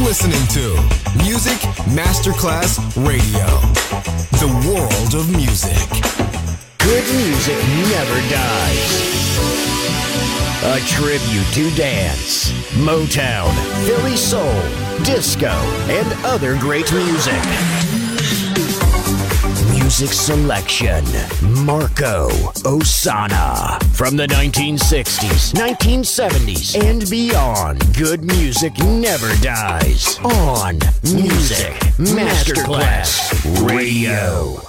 listening to Music Masterclass Radio, the world of music. Good music never dies. A tribute to dance, Motown, Philly soul, disco, and other great music. Music selection, Marco Ossanna. From the 1960s, 1970s, and beyond, good music never dies. On Music Masterclass Radio.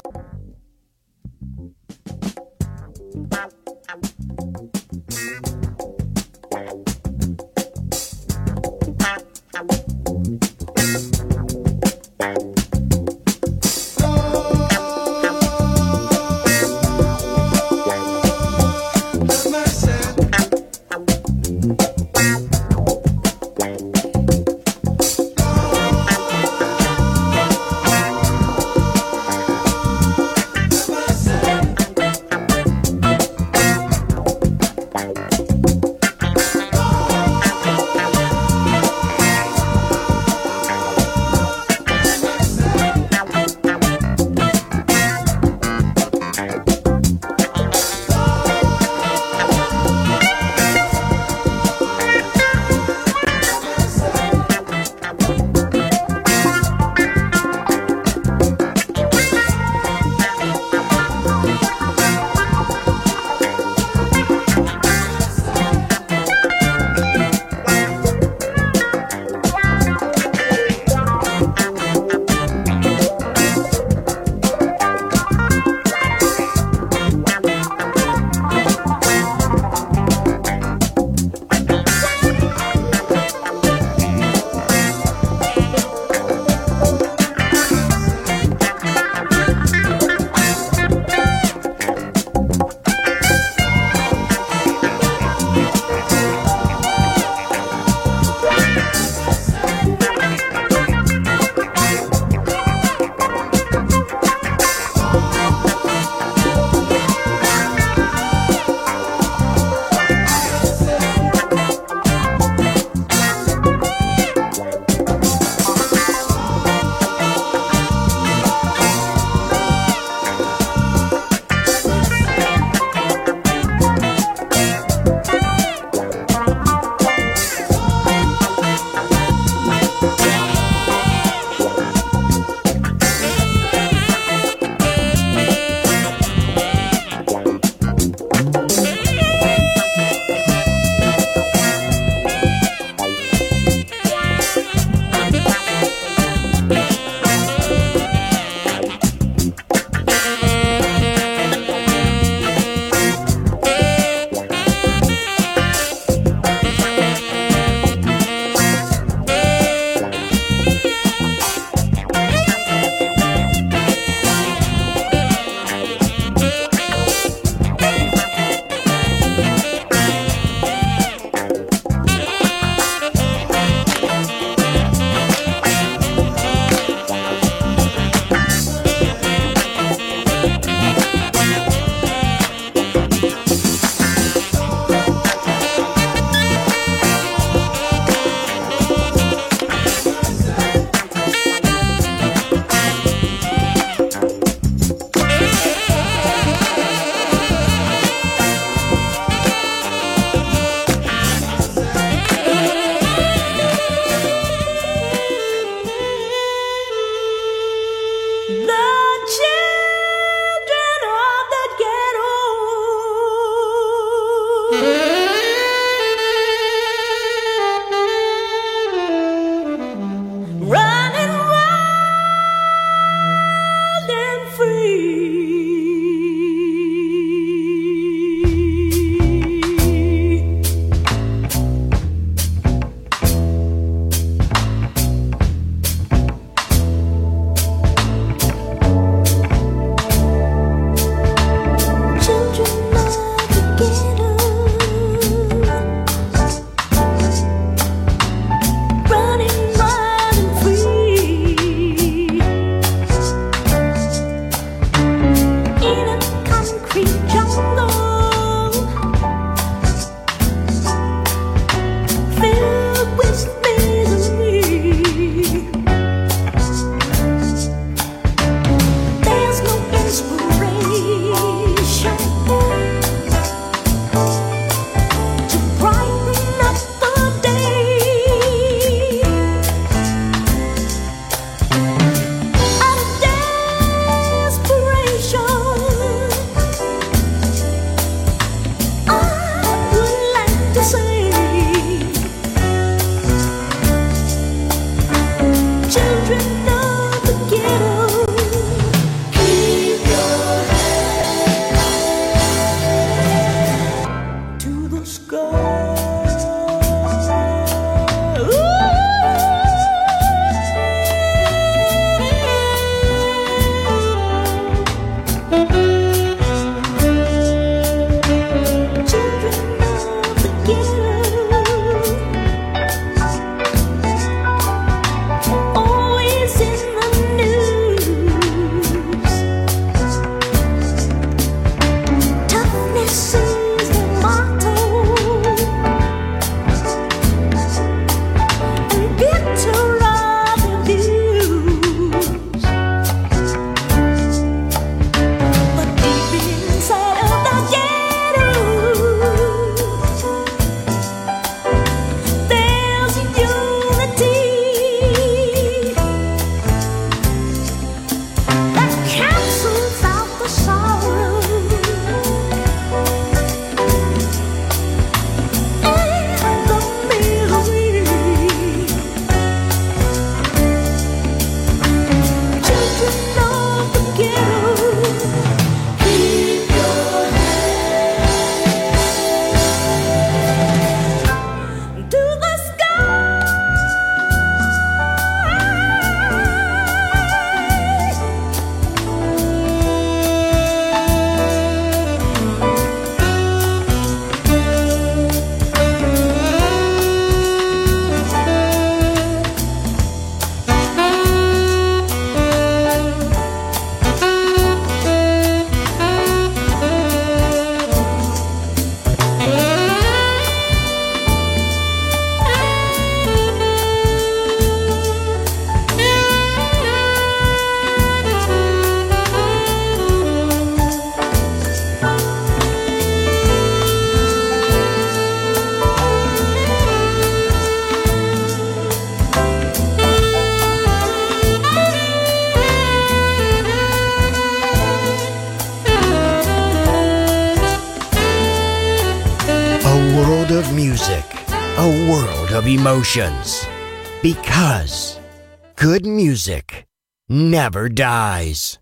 emotions. Because good music never dies.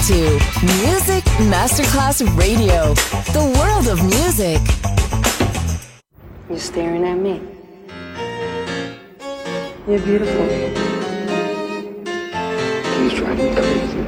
to Music Masterclass Radio, the world of music. You're staring at me. You're beautiful. Please drive me crazy.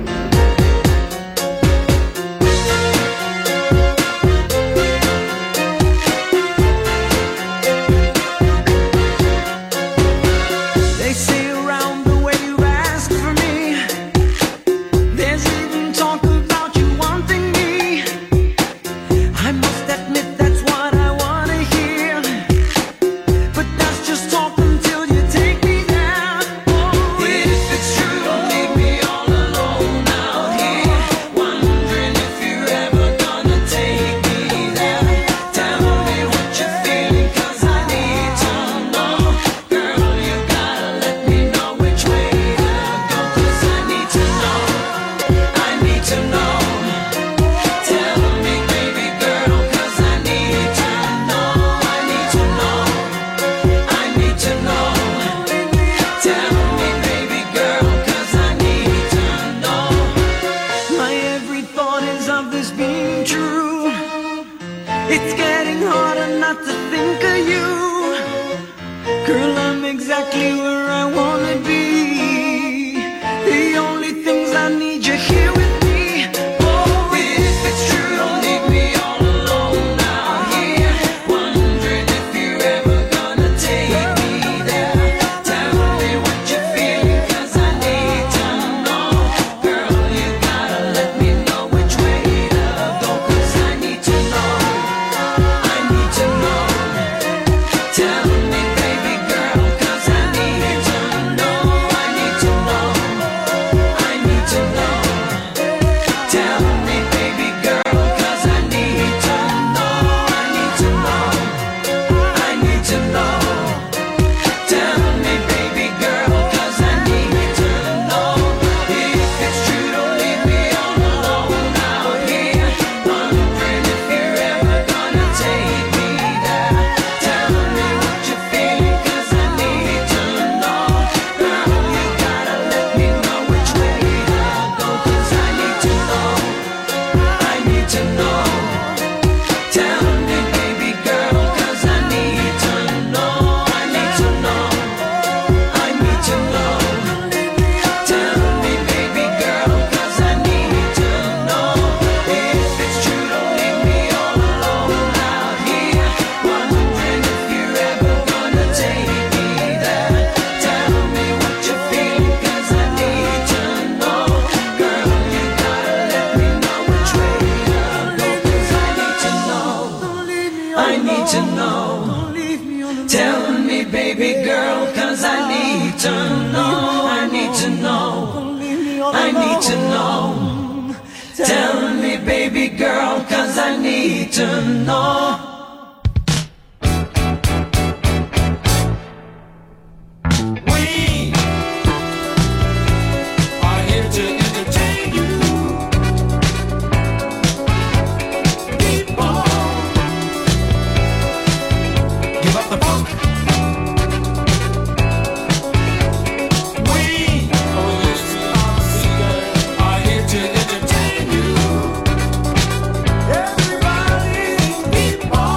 Everybody keep on.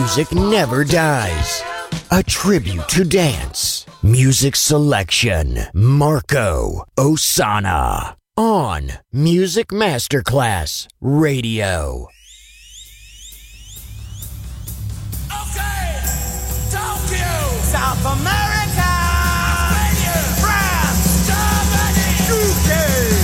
music never dies. A tribute to dance. Music selection. Marco Ossanna. On Music Masterclass Radio. Okay, Tokyo, South America, France, Germany, UK.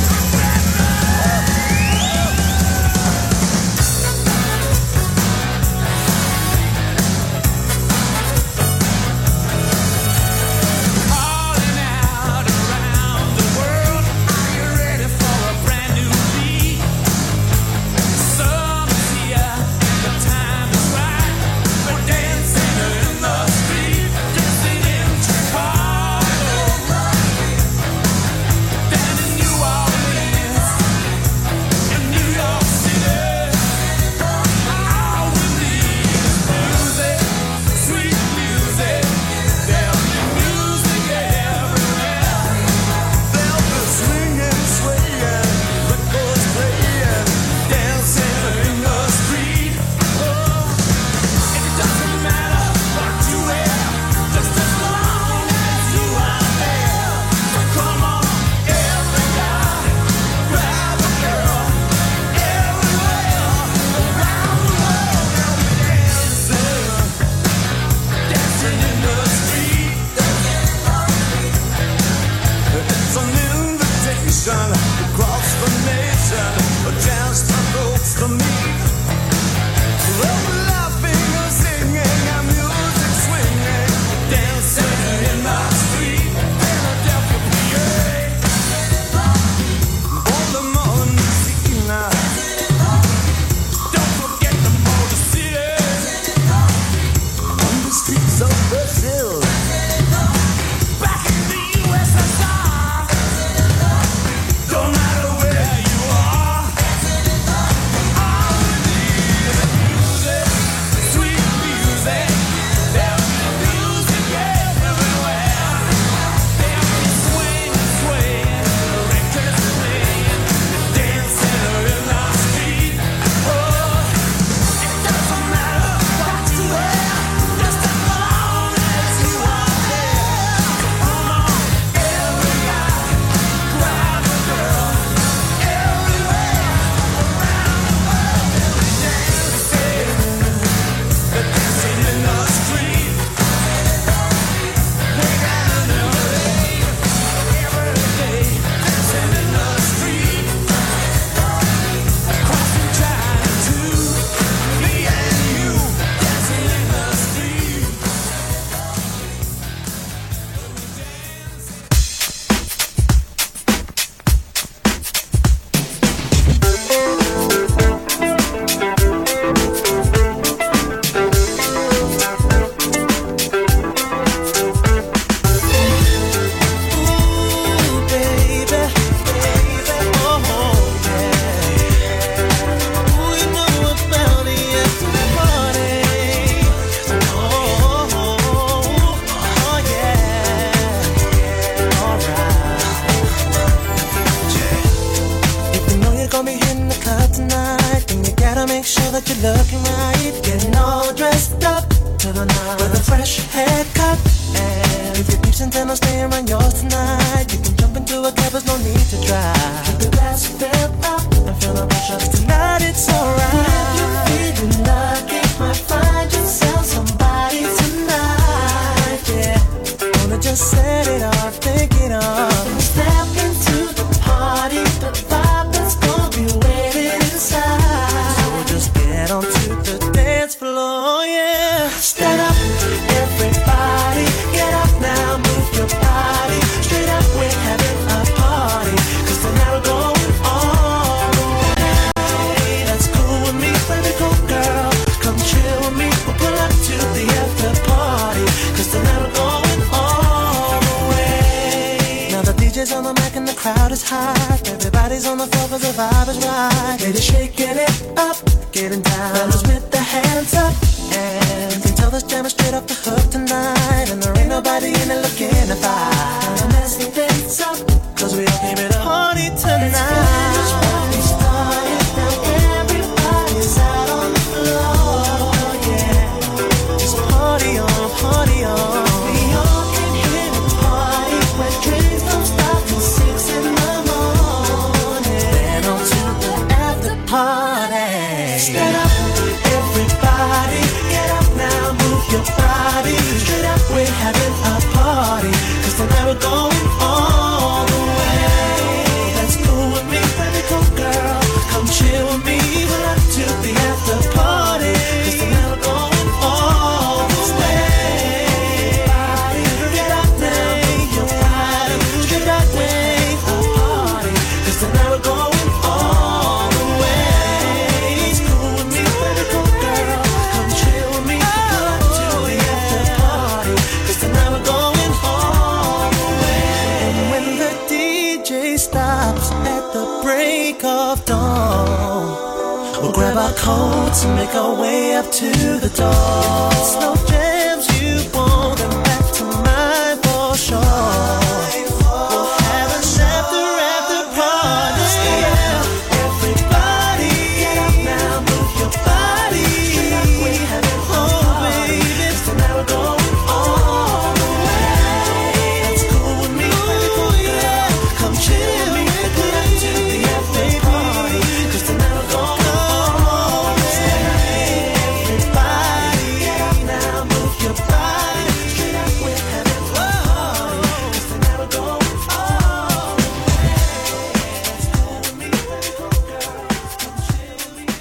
break of dawn, we'll grab our coats and make our way up to the door. Slow jams you want them back to mine for sure. We'll have an after party. Everybody, get up now, move your body. Oh baby, tonight we're going all the way. It's cool with me, ooh, yeah. Come chill with me, get up to the after party. 'Cause tonight we're going all the way. Everybody, get up now, move your body. Straight up, we're having a party. 'Cause tonight we're going all the way. It's cool with me, girl. Come chill with me.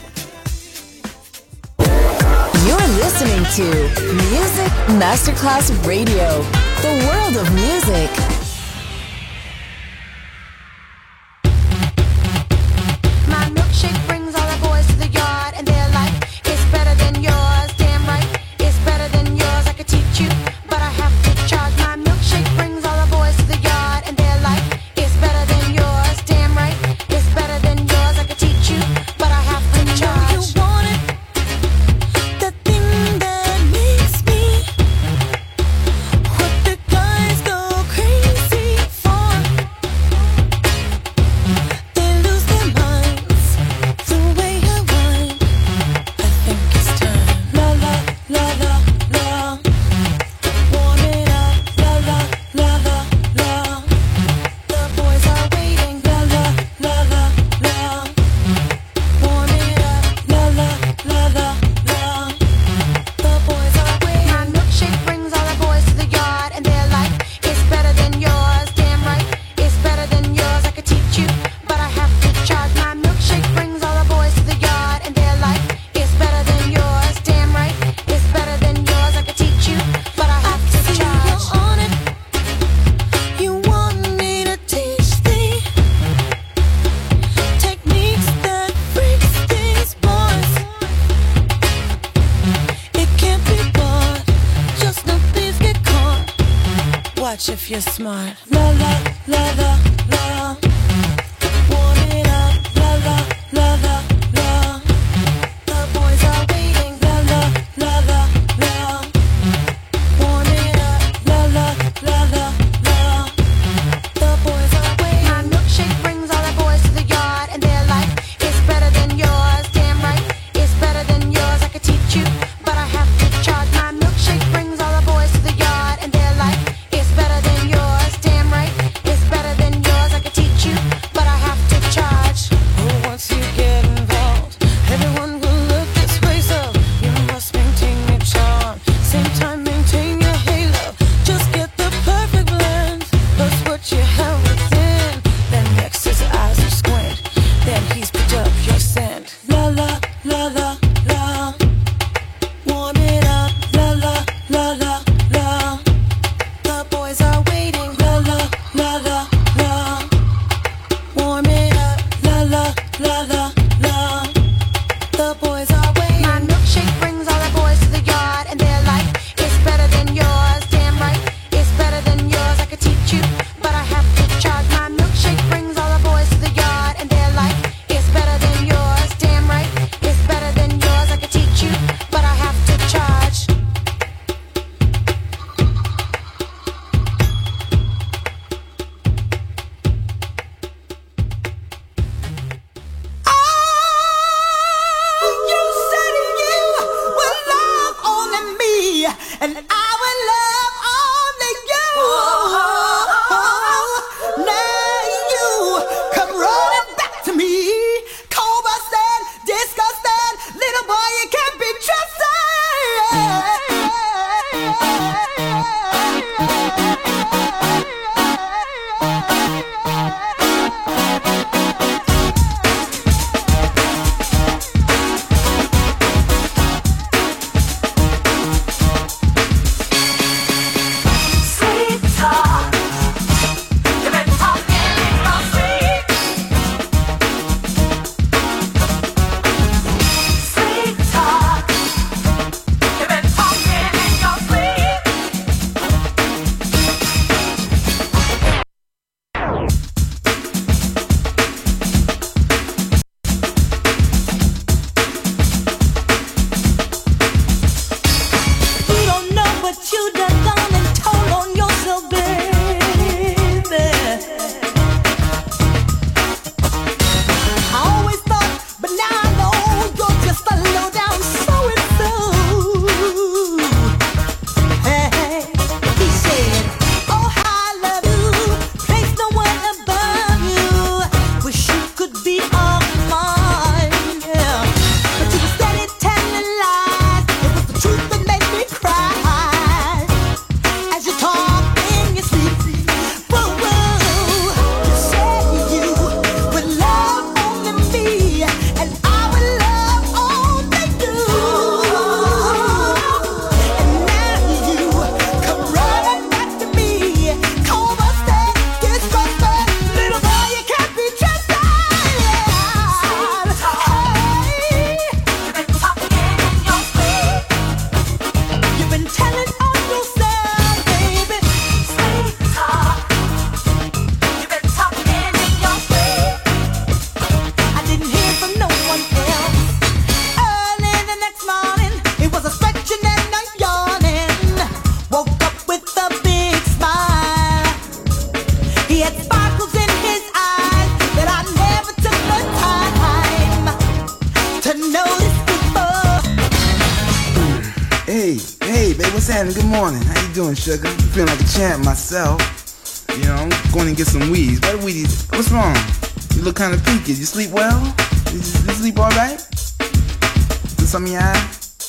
You're listening to Music Masterclass Radio, the world of music. My milkshake brings all the boys to the yard, and they're like, it's better than yours. Damn right, it's better than yours. I could teach you, but I have to charge. My milkshake brings all the boys to the yard, and they're like, it's better than yours. Damn right, it's better than yours. I could teach you, but I have to charge. You want it, the thing that makes me what the guys go crazy for. They lose their minds the way I whine. I think it's time. La la la la la. Warm it up. La la la la la. The boys are waiting. La la la la la. Warm it up. La la la la la. The boys are waiting. My milkshake brings all the boys to the yard, and they're like, it's better than yours. Damn right, it's better than yours. I could teach you, but I have to charge. My milkshake brings all the boys to the yard, and they're like, it's better than yours. Damn right, it's better than yours. I could teach you, but I have to charge. You're on it. You want me to teach thee techniques that freaks these boys. It can't be bought, just no thieves get caught. Watch if you're smart. La la la la la. Warm it up. La la la la la. The boys are waiting. La la la la la. Warm it up. La la la la la. The boys are waiting. My milkshake brings all the boys to the yard, and they're like, it's better than yours. Damn right, it's better than yours. I could teach you, but I have to charge. My milkshake brings all the boys to the yard, and they're like, it's better than yours. Damn right, it's better Manhattan, good morning. How you doing, sugar? I'm feeling like a champ myself. You know, I'm going to get some weeds. What weeds? What's wrong? You look kind of peaky. You sleep well? You sleep all right? Is some of your eye?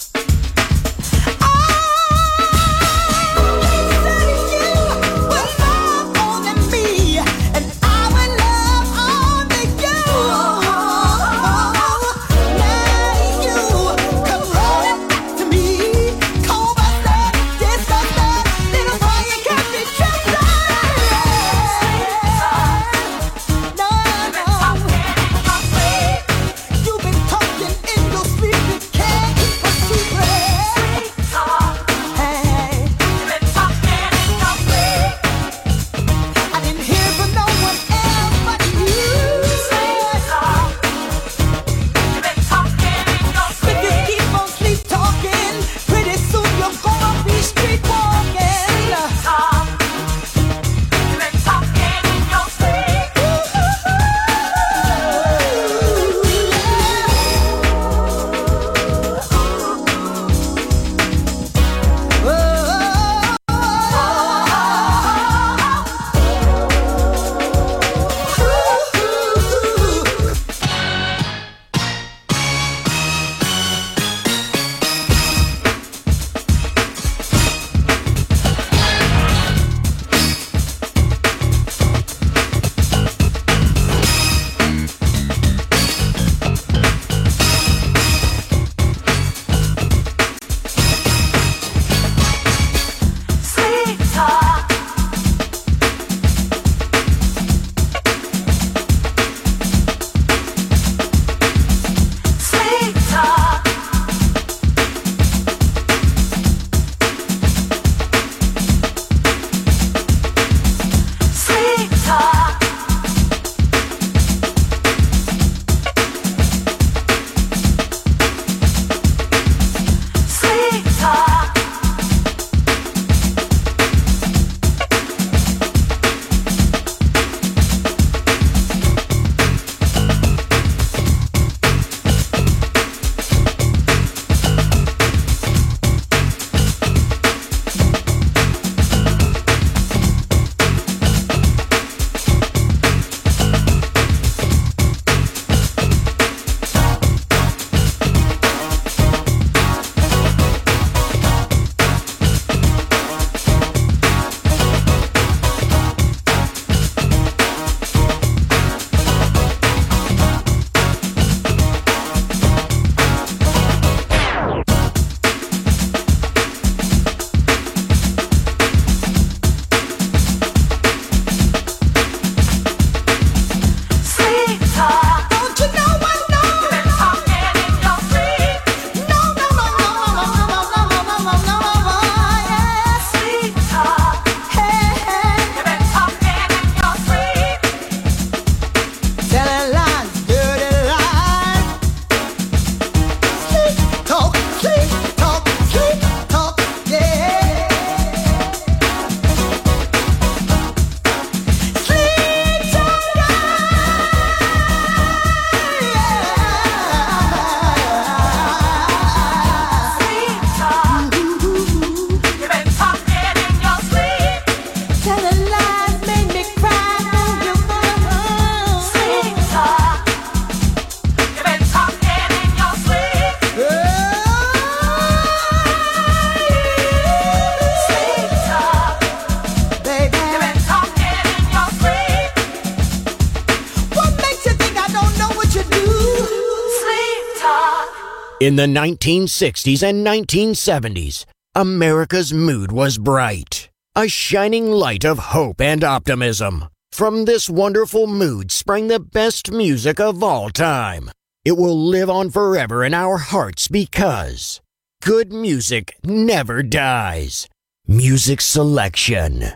In the 1960s and 1970s, America's mood was bright, a shining light of hope and optimism. From this wonderful mood sprang the best music of all time. It will live on forever in our hearts because good music never dies. Music selection,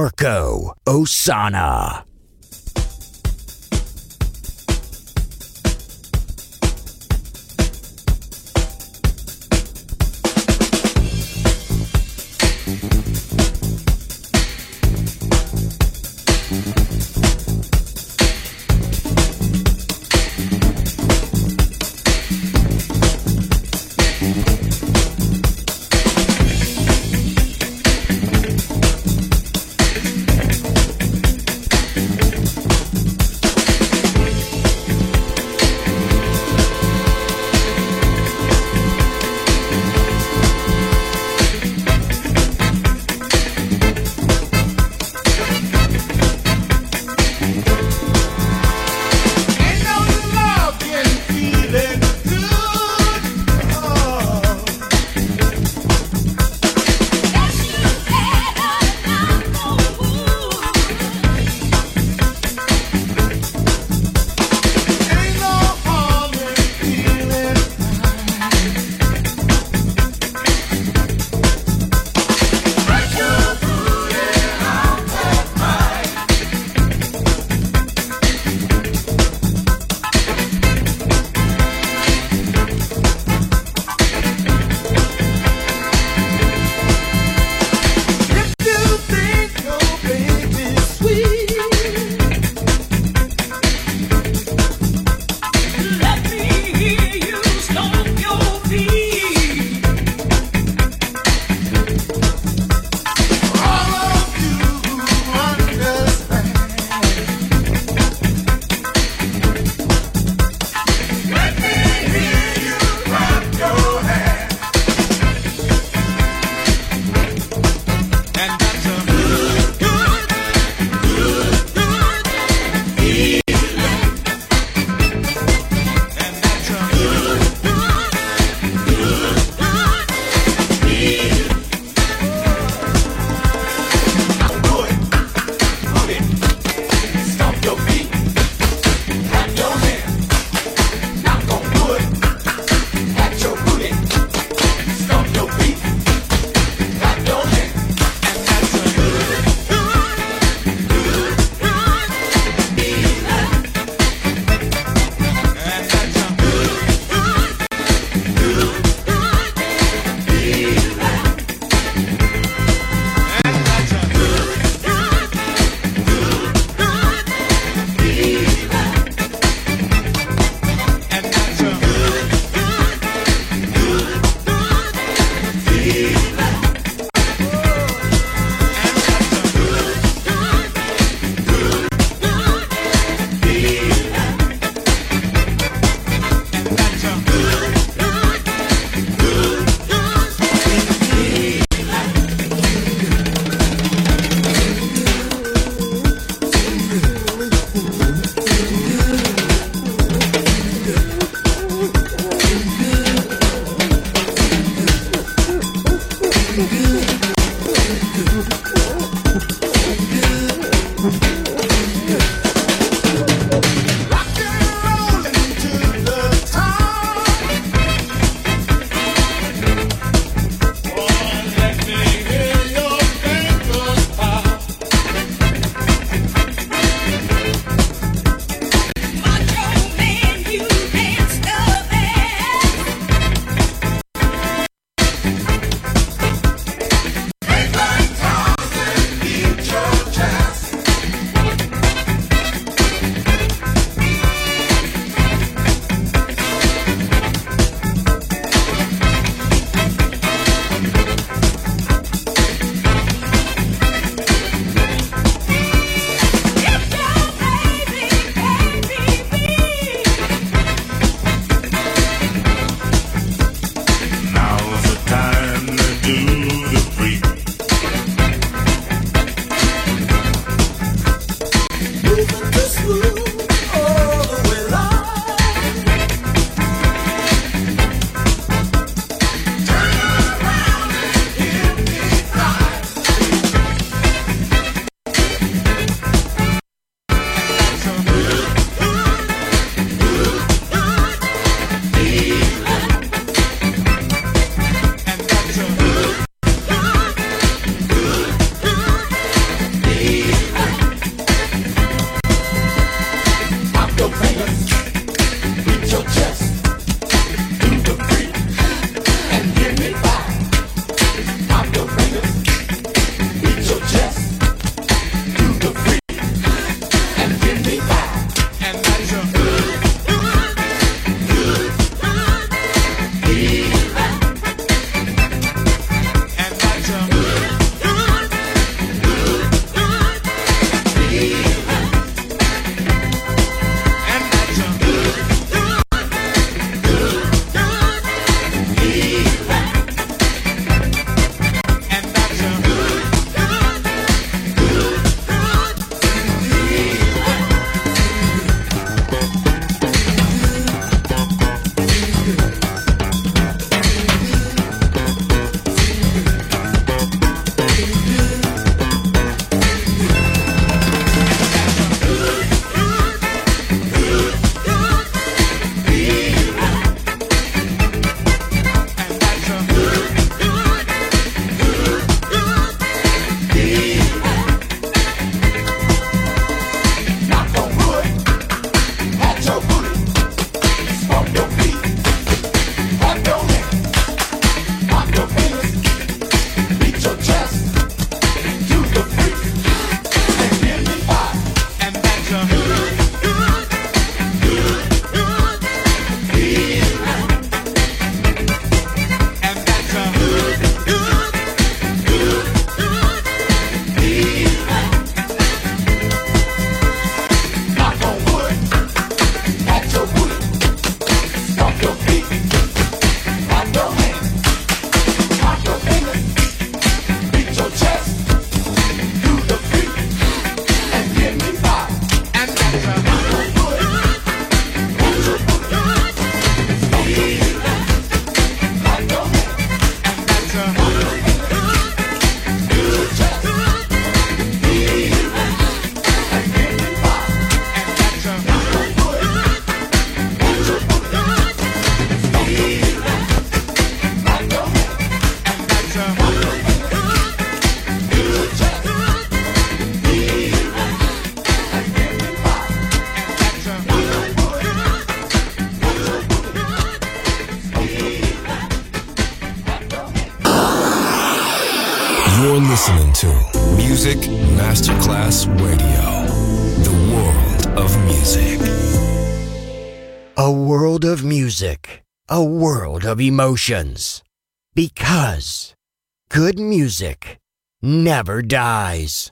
Marco Ossanna. You're listening to Music Masterclass Radio, the world of music. A world of music, a world of emotions. Because good music never dies.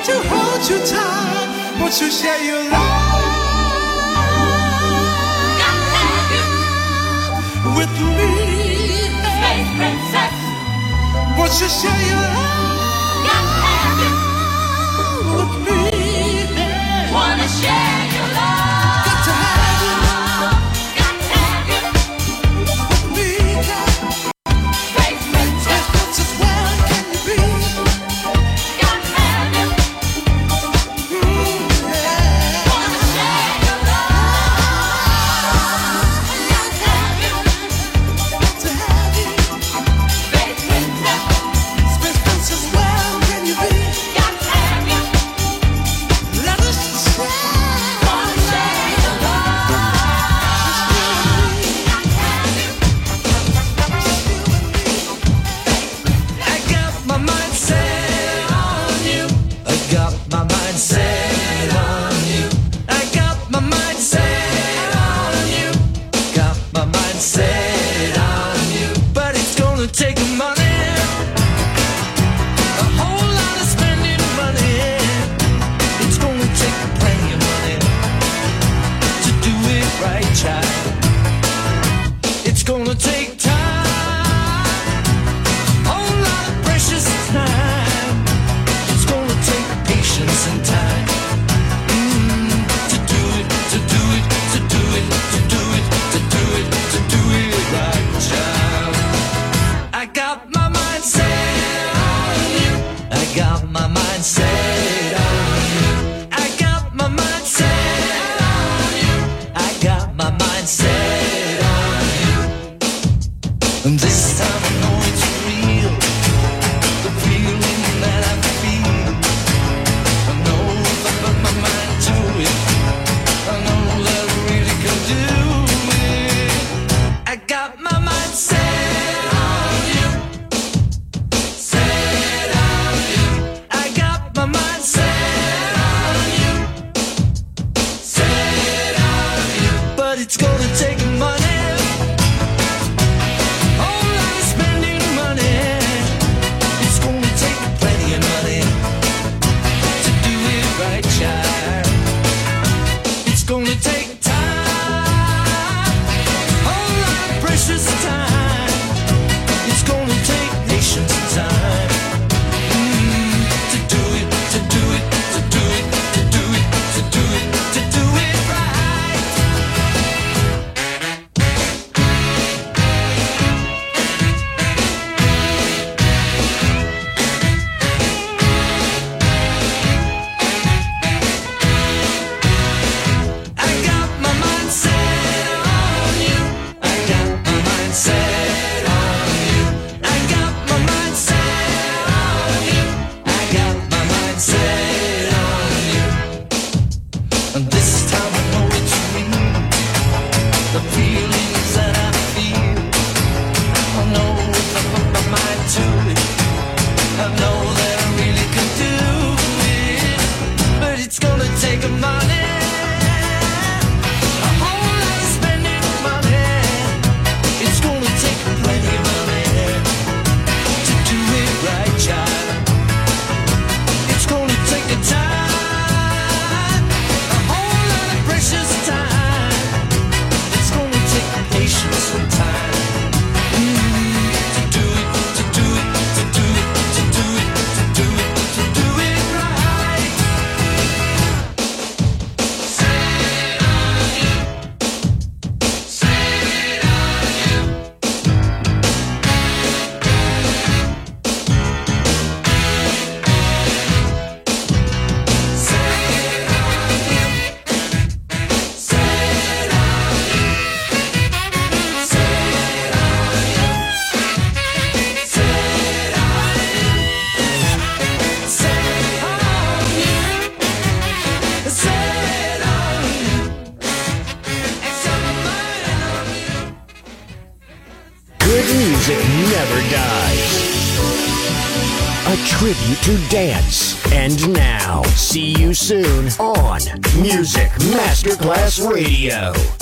to hold you tight. Won't you share your love with me? Space princess. Won't you share your love with me? Wanna share your love. Got to have you Got to have you. with me. Space princess. Princess, where can you be? Got to have you. Wanna share your love. Got to have you. Got to have you. Space princess. Space Princess, where can you be? Got to have you. Let us share. Wanna share your love. I got my mind set on you. I got my mind set on you. I got my mind set on you. Got my mind set on you. But it's gonna take money. A whole lot of spending money. It's gonna take plenty of money to do it right, child. It's gonna take time. Whole lot of precious time. It's gonna take patience and time to do it, to do it, to do it, to do it, to do it, to do it right, child. I got my mind set on you. I got my mind set on you. I got my mind set on you. I got my mind set on you. And this time I know it's real. The feeling that I feel. I know if I put my mind to it, I know that I really can do it. I got my mind set on you. Set on you. I got my mind set on you. Set on you. But it's gonna take money. Whole lot of spending money. It's gonna take plenty of money to do it right, child. It's gonna take time. Whole lot of precious time. It's gonna take patience and time to do it, to do it, to do it, to do it, to do it, to do it right. I got my mind set on you. I got my mind set on you. I got my mind set on you. I got my mind set on you. And this time I know it's real. The feelings that I feel. I know if I put my mind to it, I know that I really can do it. But it's gonna take money. A whole lot of spending money. It's gonna take plenty of money to do it right, child. It's gonna take a time, a whole lot of precious time. It's gonna take patience and time to do it, to do it, to do it, to do it, to do it, to do it right. Set on you. Set on you. Set on you. Set on you. Set on you. Set on you. Set on you. Set on you. Set on you. Good music never dies. A tribute to dance. And now, see you soon on Music Masterclass Radio.